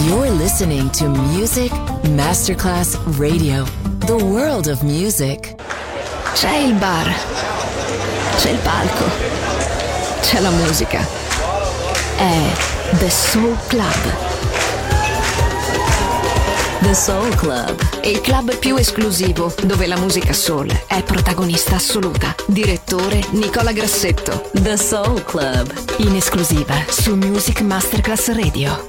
You're listening to Music Masterclass Radio, the world of music. C'è il bar, c'è il palco, c'è la musica. È The Soul Club. The Soul Club, Il club più esclusivo dove la musica soul è protagonista assoluta. Direttore Nicola Grassetto. The Soul Club, In esclusiva su Music Masterclass Radio.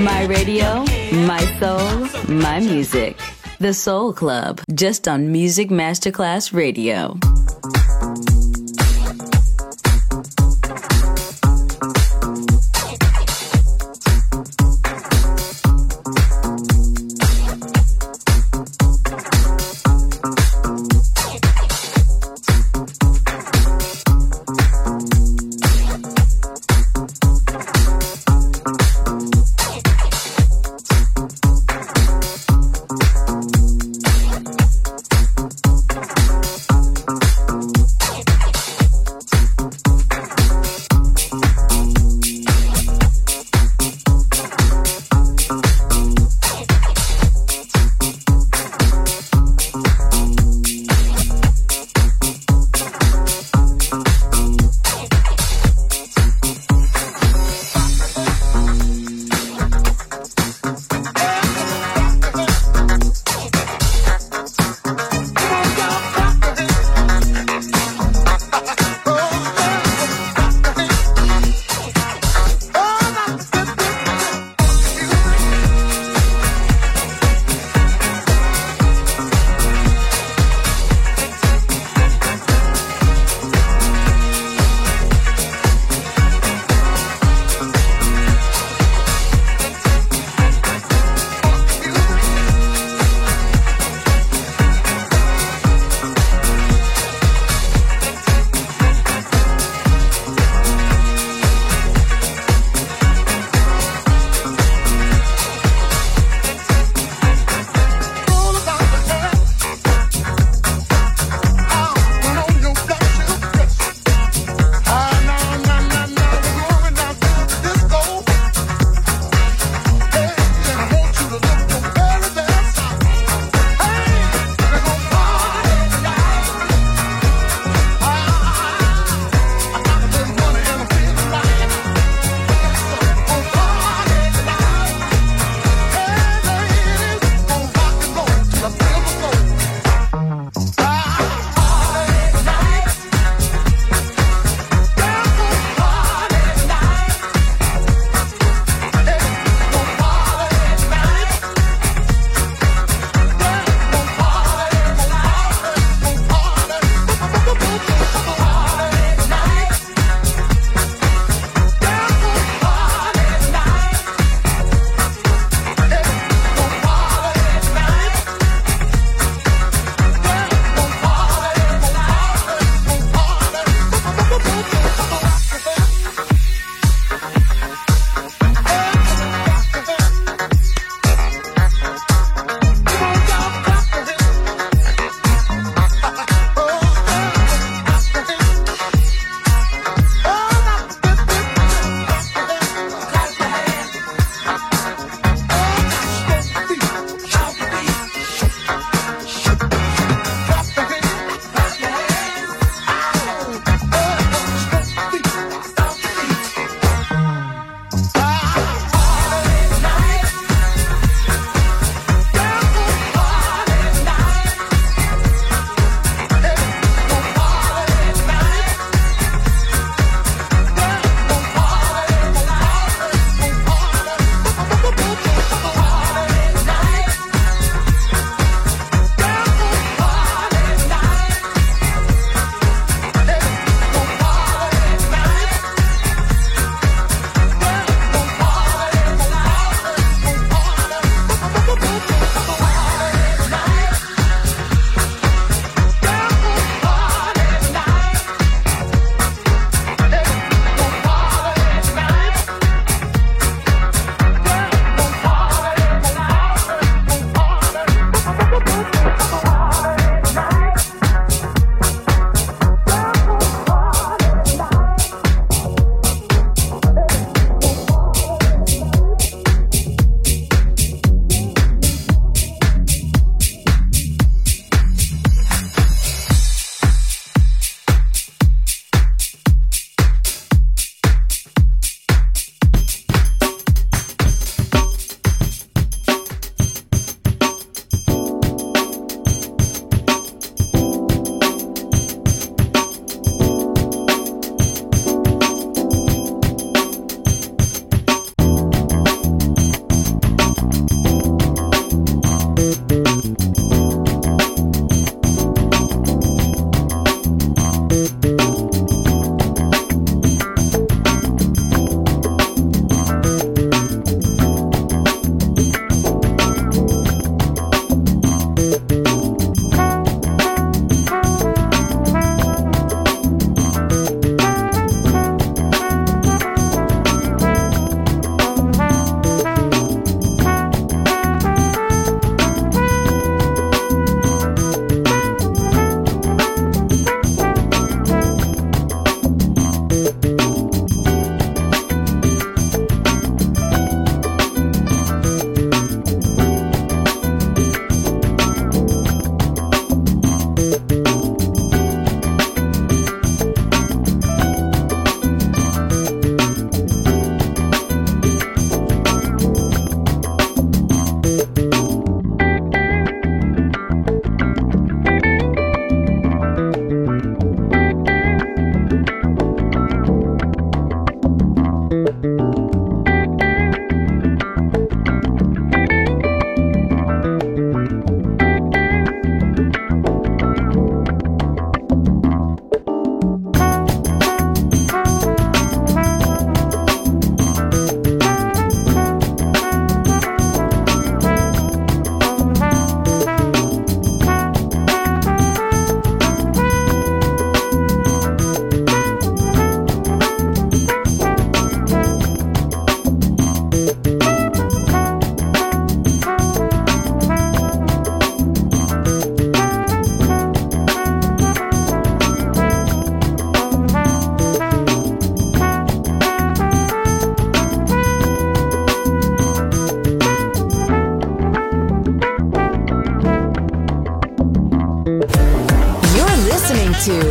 My radio, my soul, my music. The Soul Club, just on Music Masterclass Radio.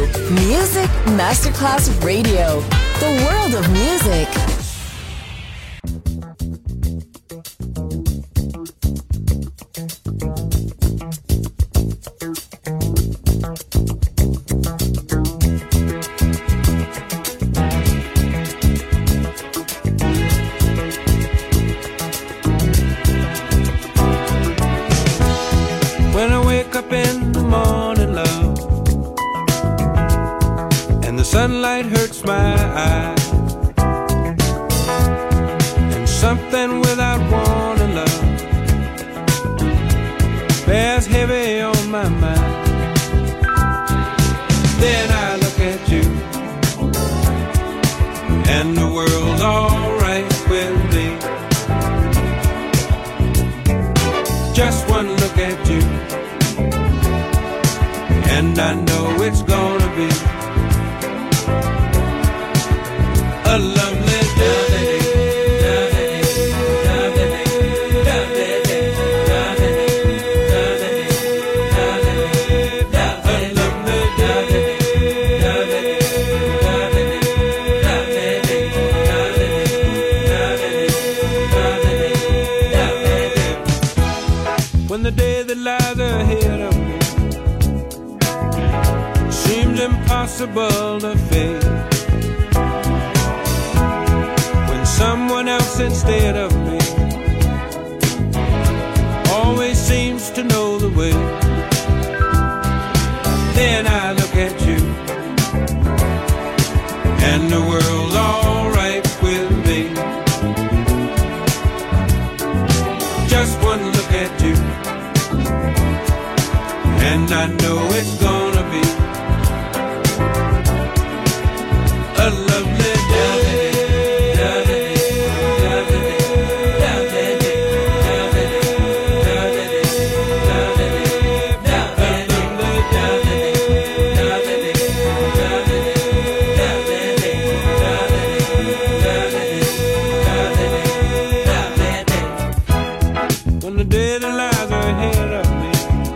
Music Masterclass Radio. The world of music. When I wake up in the morning, love, and the sunlight hurts my eyes, and something without warning, love, bears heavy on my mind. Then I look at you, and the world's alright with me. Just one look at you, and I know it's gonna be a lovely day. When the day that lies ahead of me seems impossible to face, when someone else instead of me always seems to know the way, then I look at you, and the world's alright with me. Just one look at you, and I know it's gonna be a lovely day. When the day that lies ahead of me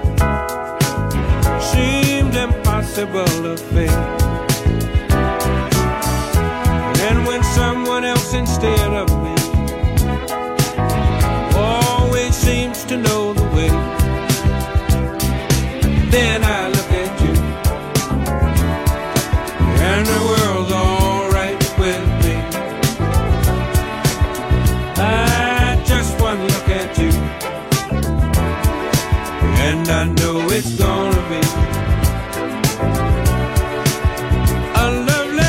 seems impossible to face, and when someone else instead of me always seems to know the way, then I look at you, and the world's alright with me. I just one look at you, and I know it's gonna be a lovely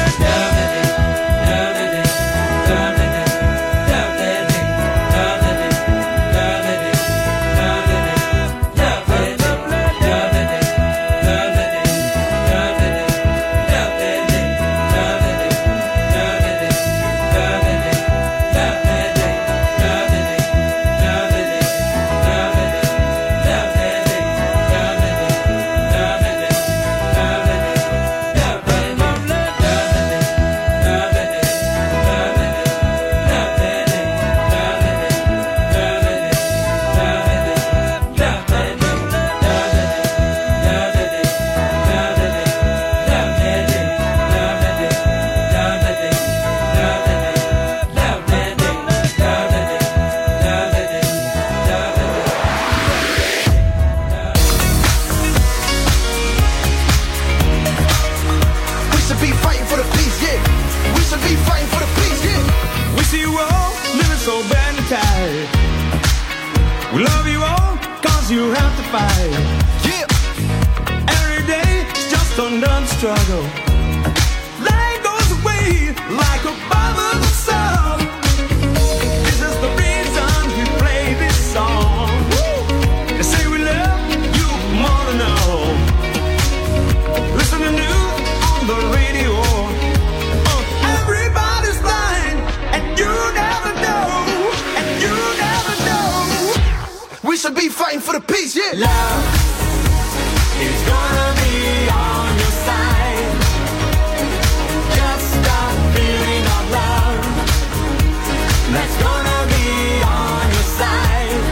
we love you all, cause you have to fight. Yeah. Every day is just another struggle. Life goes away like a bubble of song. This is the reason we play this song. Woo. They say we love you more than all. Listen to news on the radio. Everybody's blind, and you never know. And you never know. We should be fighting for the peace, yeah. Love is gonna be on your side. Just stop feeling of love. That's gonna be on your side.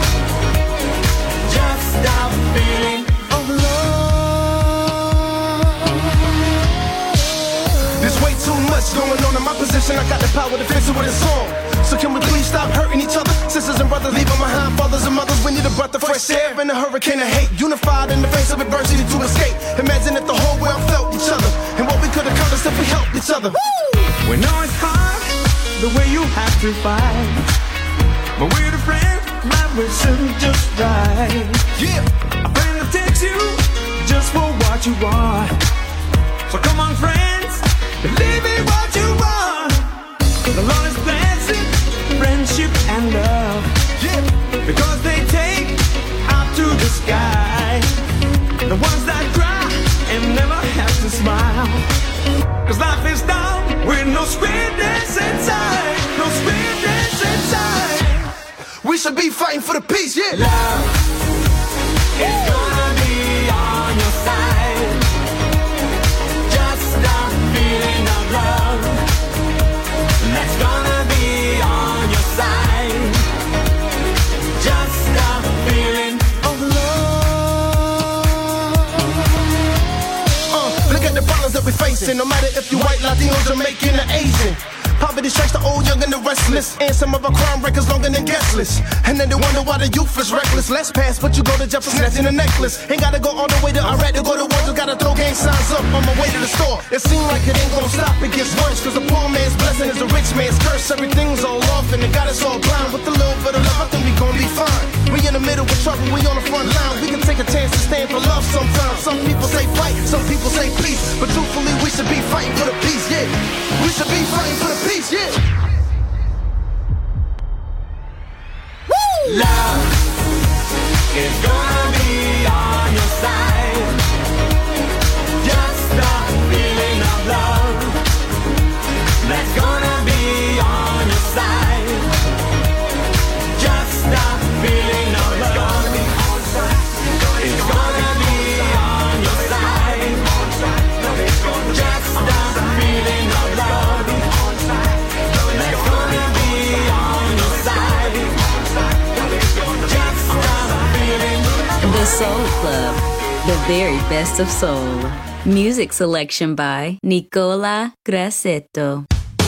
Just stop feeling of love. situation, I got the power to fix it with a song. So can we please stop hurting each other? Sisters and brothers leaving behind fathers and mothers. We need a breath of fresh air and a hurricane of hate. Unified in the face of adversity to escape. Imagine if the whole world felt each other and what we could accomplish if we helped each other. We know it's hard the way you have to fight, but we're the friends that will soon just right. Yeah, A friend that takes you just for what you are. So come on, friends, believe in what you want. The Lord is blessing friendship and love. yeah. Because they take out to the sky. The ones that cry and never have to smile. Cause life is down with no sweetness inside. No sweetness inside. We should be fighting for the peace, yeah. Love is gonna be on your side. Just stop feeling of love. That's gonna be on your side. Just stop feeling of love. Look at the problems that we're facing. No matter if you're white, Latino, Jamaican, or Asian. Poverty strikes the old, young, and the restless. And some of our crime records longer than guest lists. And then they wonder why the youth is reckless. Let's pass, but you go to Jefferson, snatching a necklace. Ain't gotta go all the way to Iraq to go to war. Just gotta throw gang signs up on my way to the store. It seems like it ain't gonna stop, it gets worse. Cause a poor man's blessing is a rich man's curse. Everything's all off and it got us all blind. With a little bit of love, I think we gon' be fine. We in the middle with trouble, we on the front line. We can take a chance to stand for love sometimes. Some people say fight, some people say peace. But truthfully, we should be fighting for the peace, yeah. We should be fighting for the peace, yeah. Love is gonna be on your side. Just stop feeling of love. That's gonna be on your side. Just stop feeling of love. It's gonna be on your side. Just stop feeling of love. That's gonna be on your side. The Soul Club, the very best of soul. Music selection by Nicola Grassetto.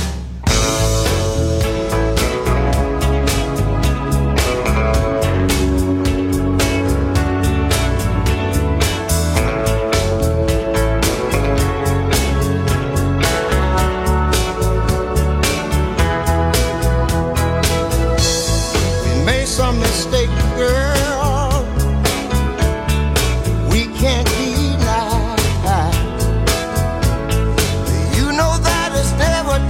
We made some mistake, girl. We can't deny. You know that it's never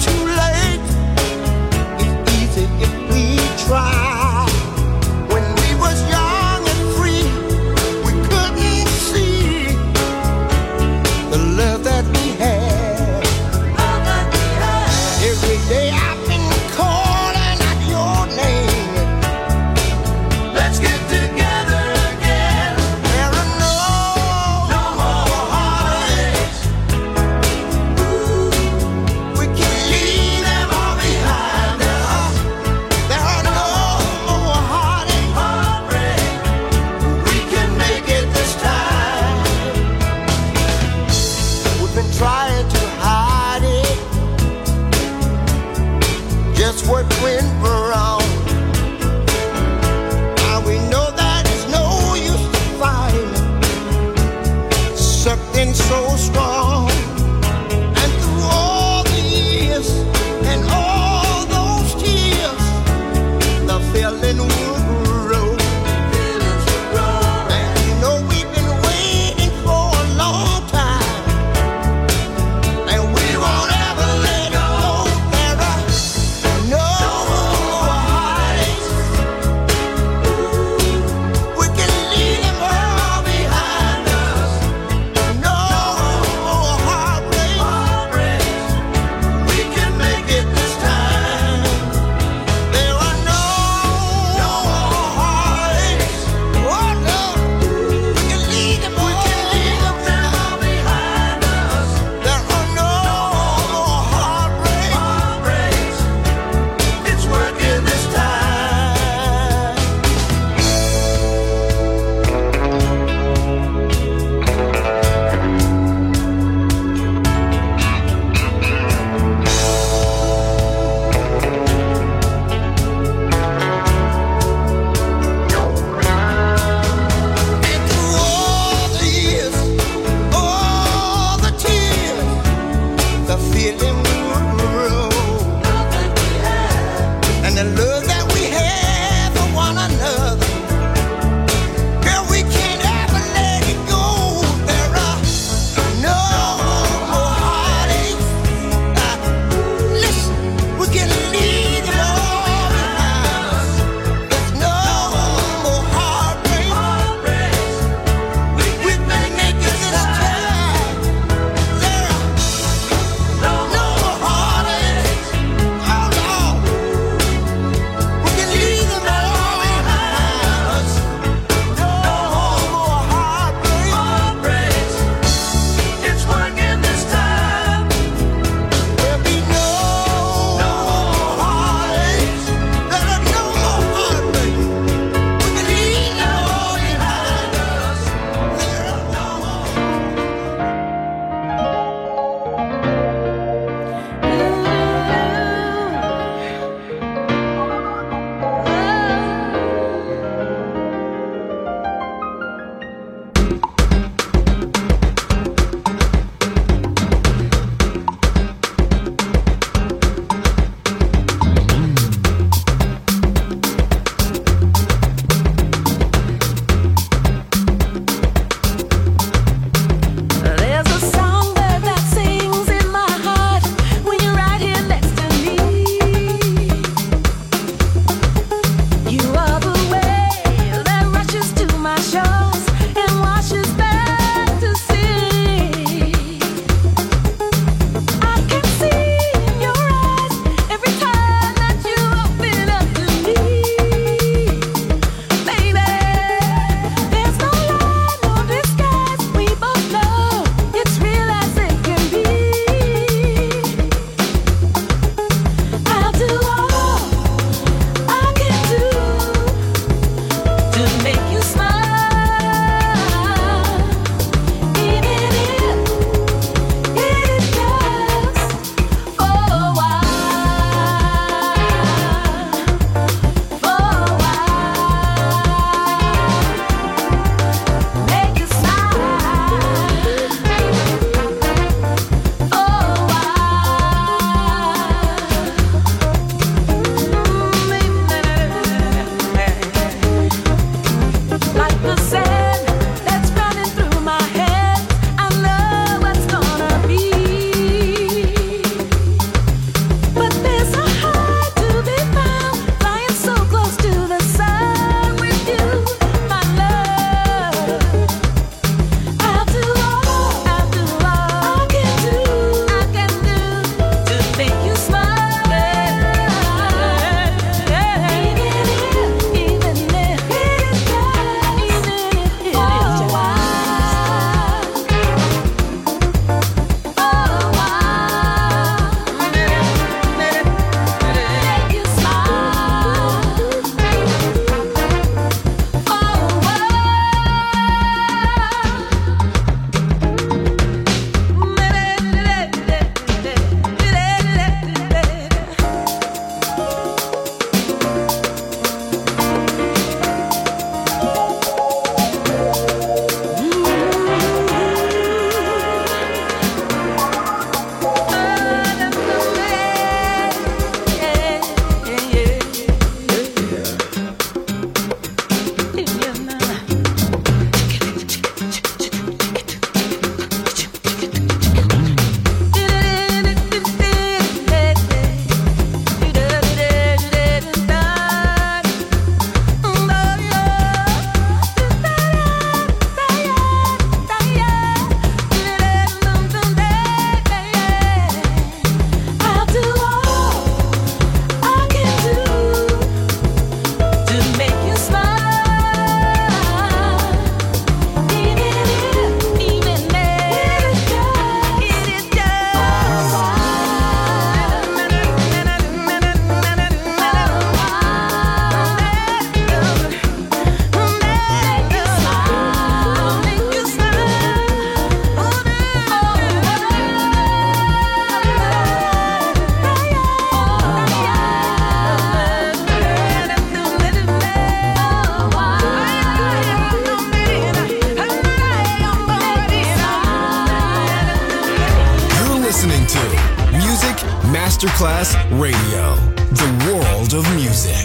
Masterclass Radio, the world of music.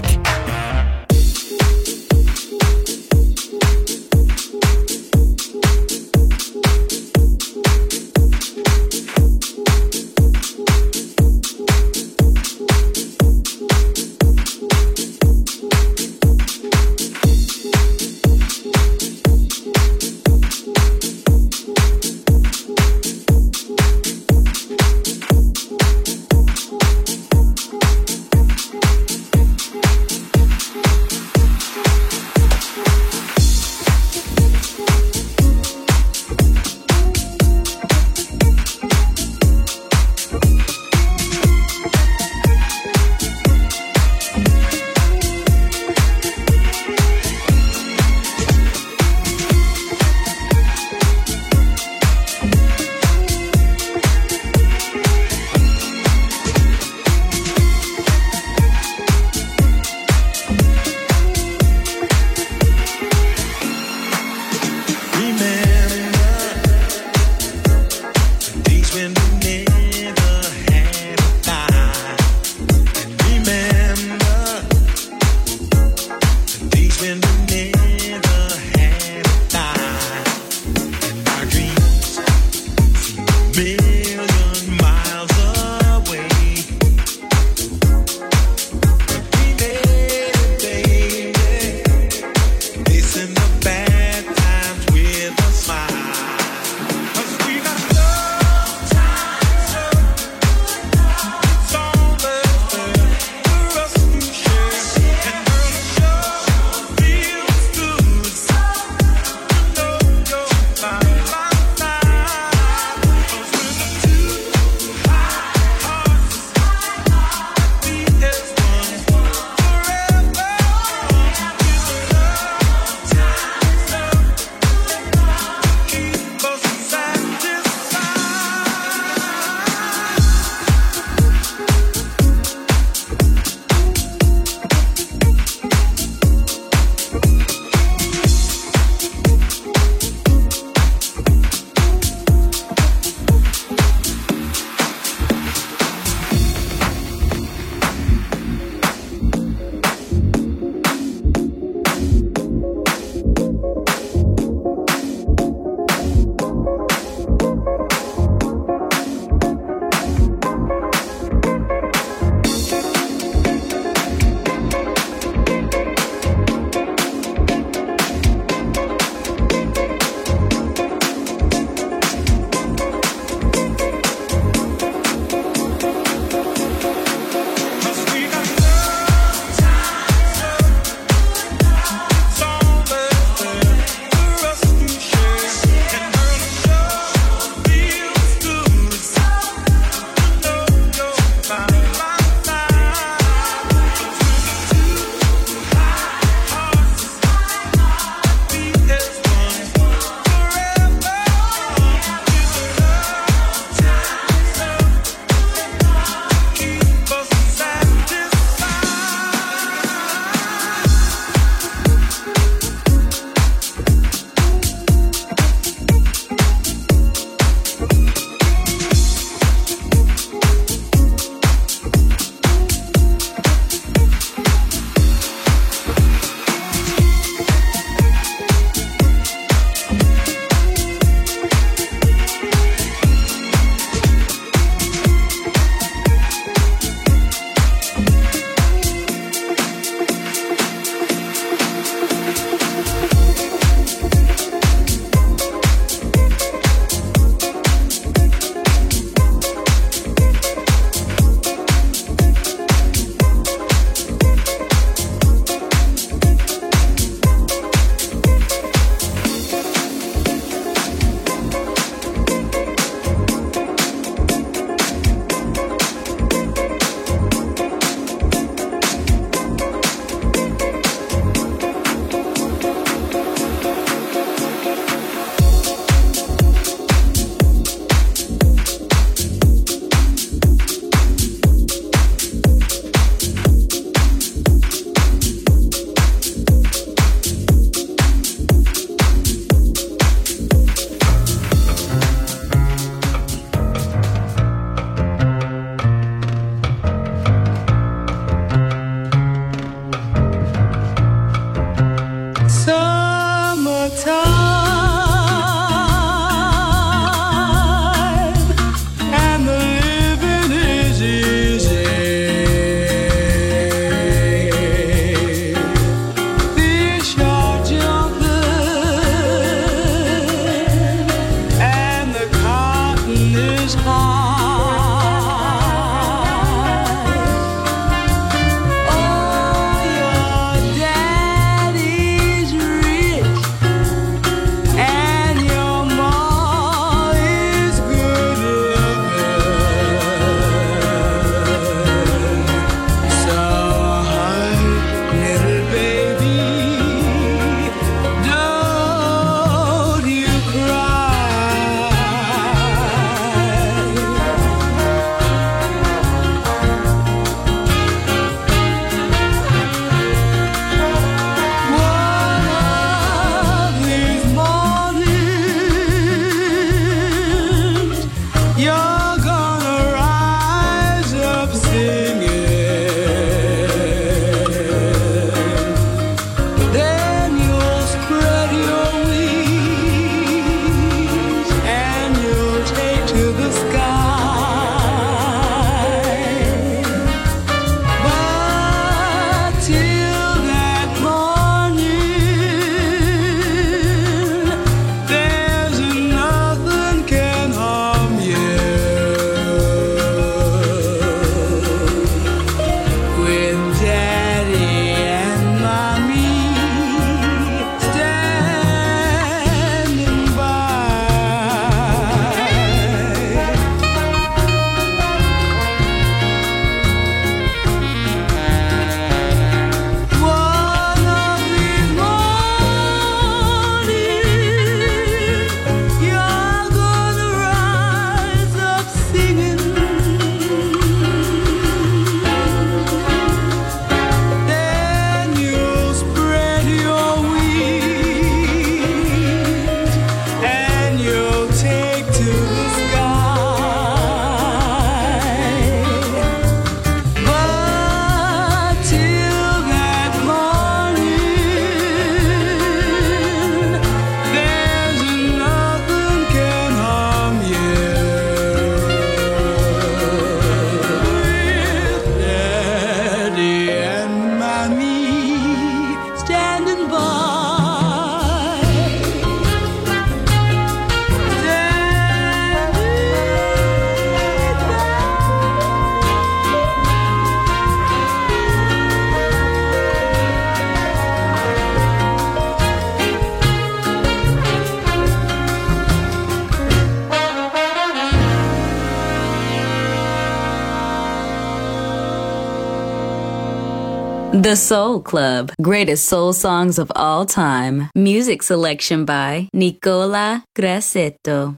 The Soul Club, greatest soul songs of all time. Music selection by Nicola Grassetto.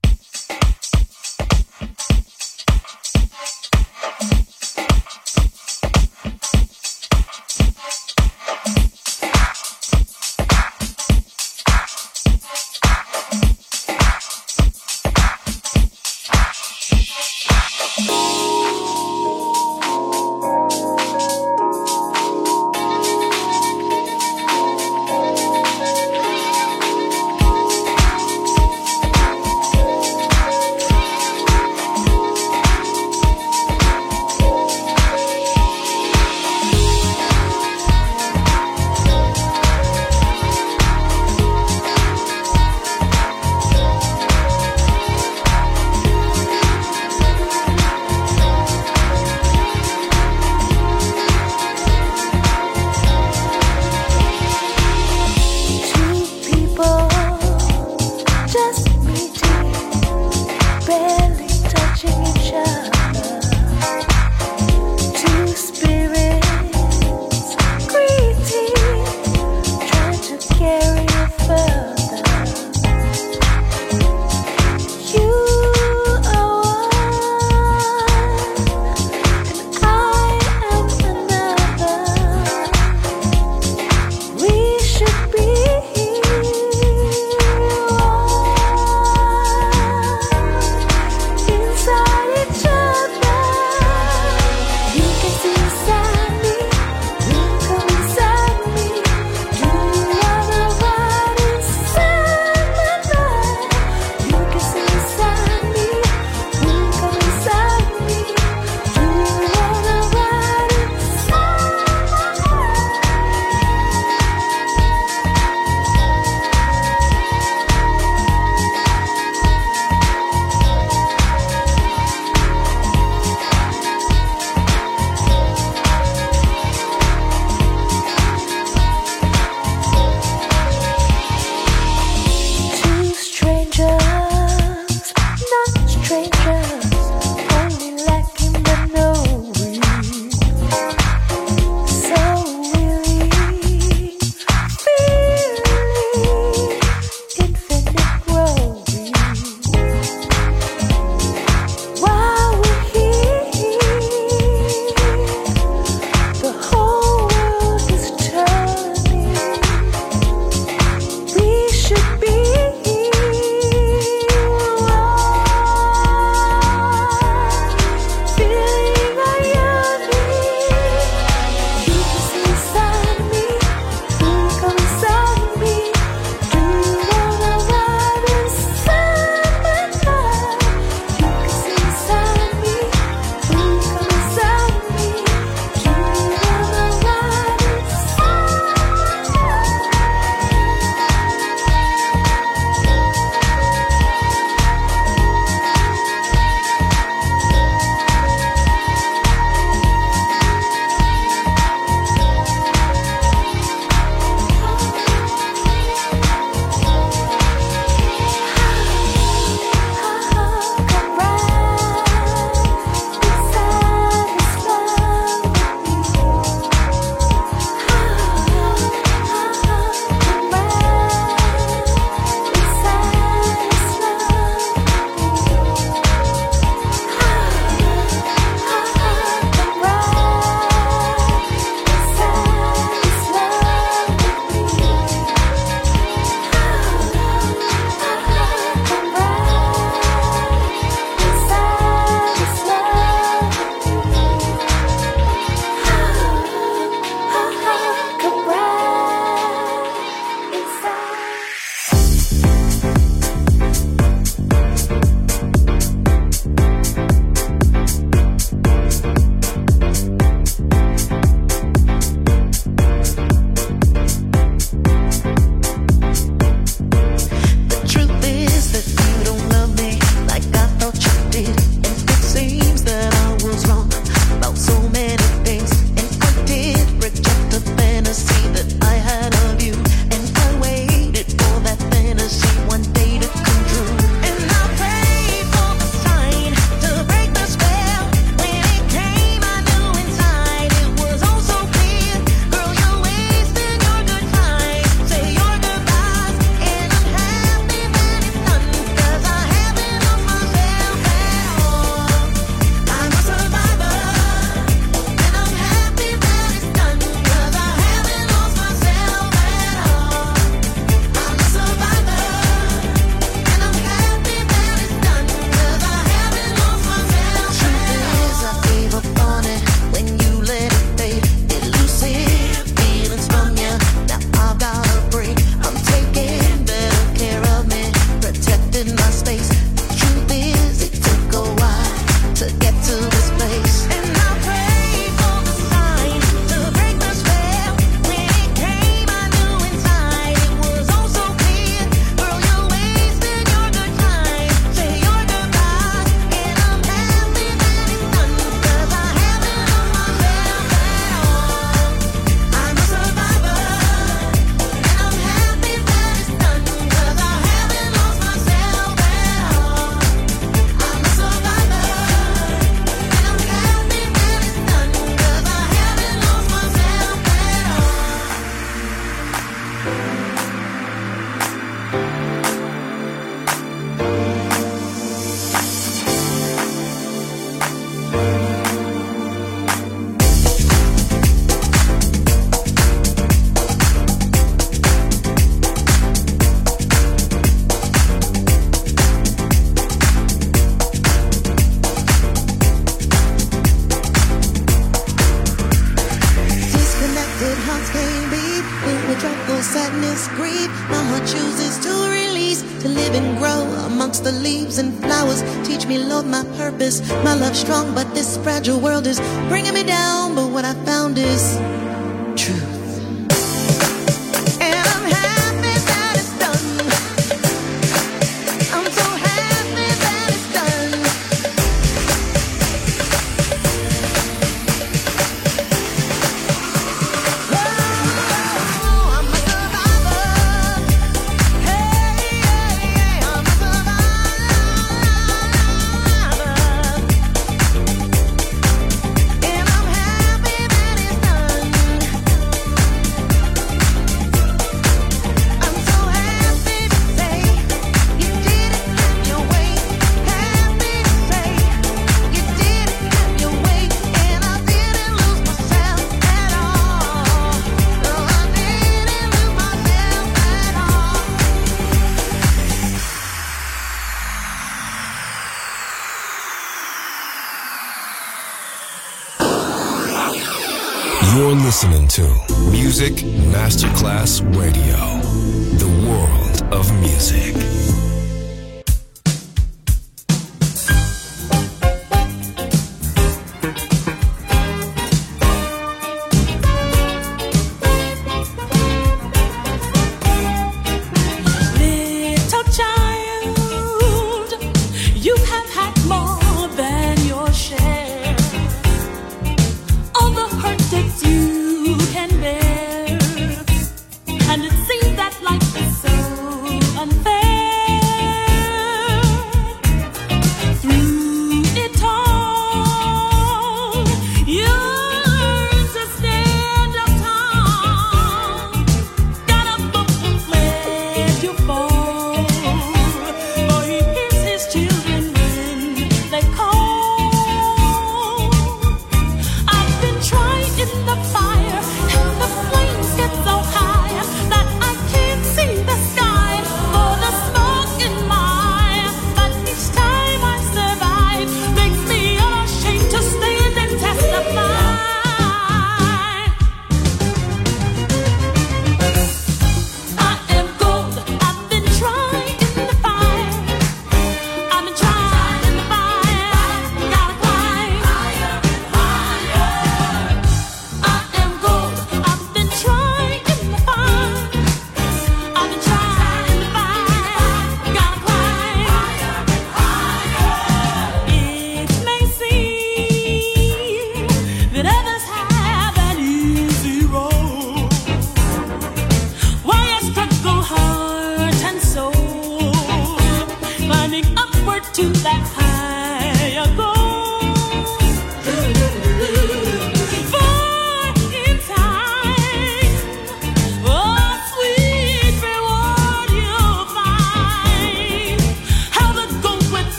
trouble, sadness, grief. My heart chooses to release, to live and grow amongst the leaves and flowers. Teach me, Lord, my purpose. My love's strong, but this fragile world is bringing me down. But what I found is truth. You're listening to Music Masterclass Radio, the world of music. And it seems that life is so unfair.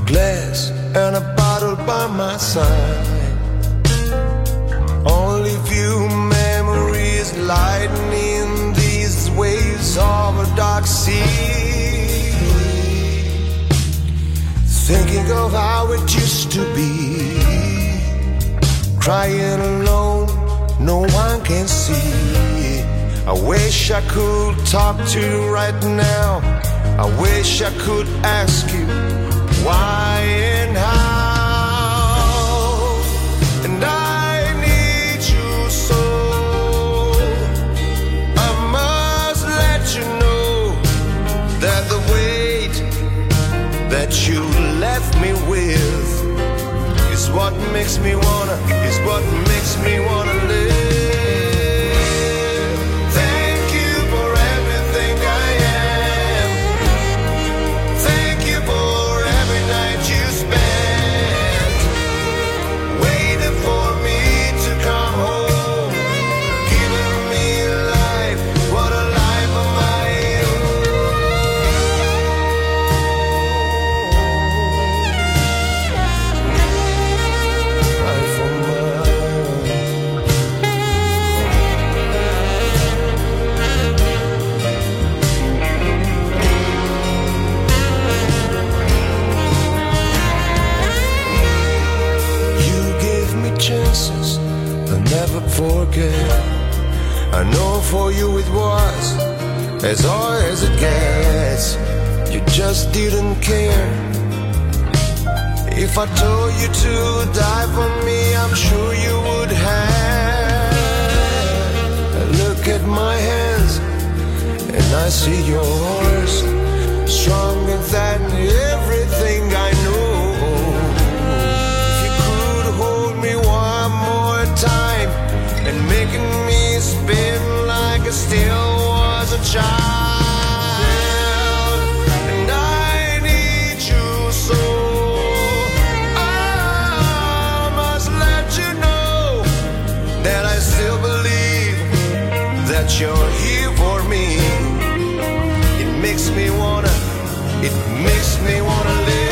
glass and a bottle by my side. Only few memories lightning these waves of a dark sea. Thinking of how it used to be, crying alone, no one can see. I wish I could talk to you right now. I wish I could ask you why and how. And I need you so. I must let you know that the weight that you left me with is what makes me wanna live. Thank you for everything I am. Thank you for every night you spent waiting for me to come home, giving me life, what a life of my own. Life of my own. You gave me chances I'll never forget. I know for you it was as hard as it gets. You just didn't care. If I told you to die for me, I'm sure you would have. Look at my hands and I see yours, stronger than everything I know. If you could hold me one more time and making me spin like I still was a child. And I need you so. I must let you know that I still believe that you're here for me. It makes me wanna live.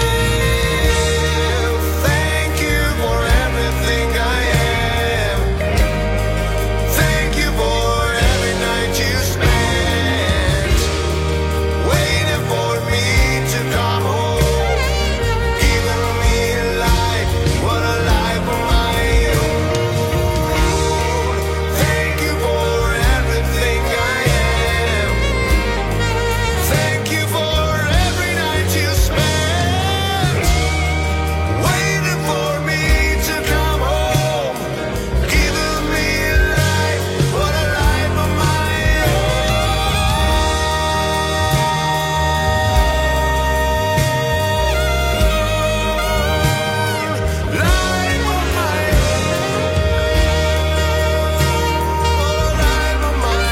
Thank you for everything I am. Thank you for every night you spent waiting for me to come home, giving me life, what a life of my own. Thank you for everything I am. Thank you for every night you spent waiting for me to come home, giving me life, what a life of my own. Life of my own, life of my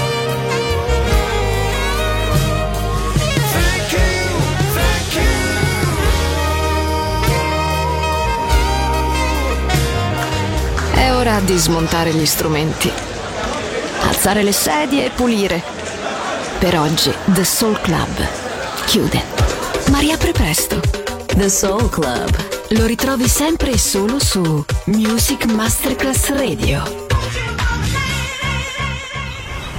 own. Thank you, thank you. È ora di smontare gli strumenti, alzare le sedie e pulire. Per oggi The Soul Club chiude, ma riapre presto. The Soul Club. Lo ritrovi sempre e solo su Music Masterclass Radio.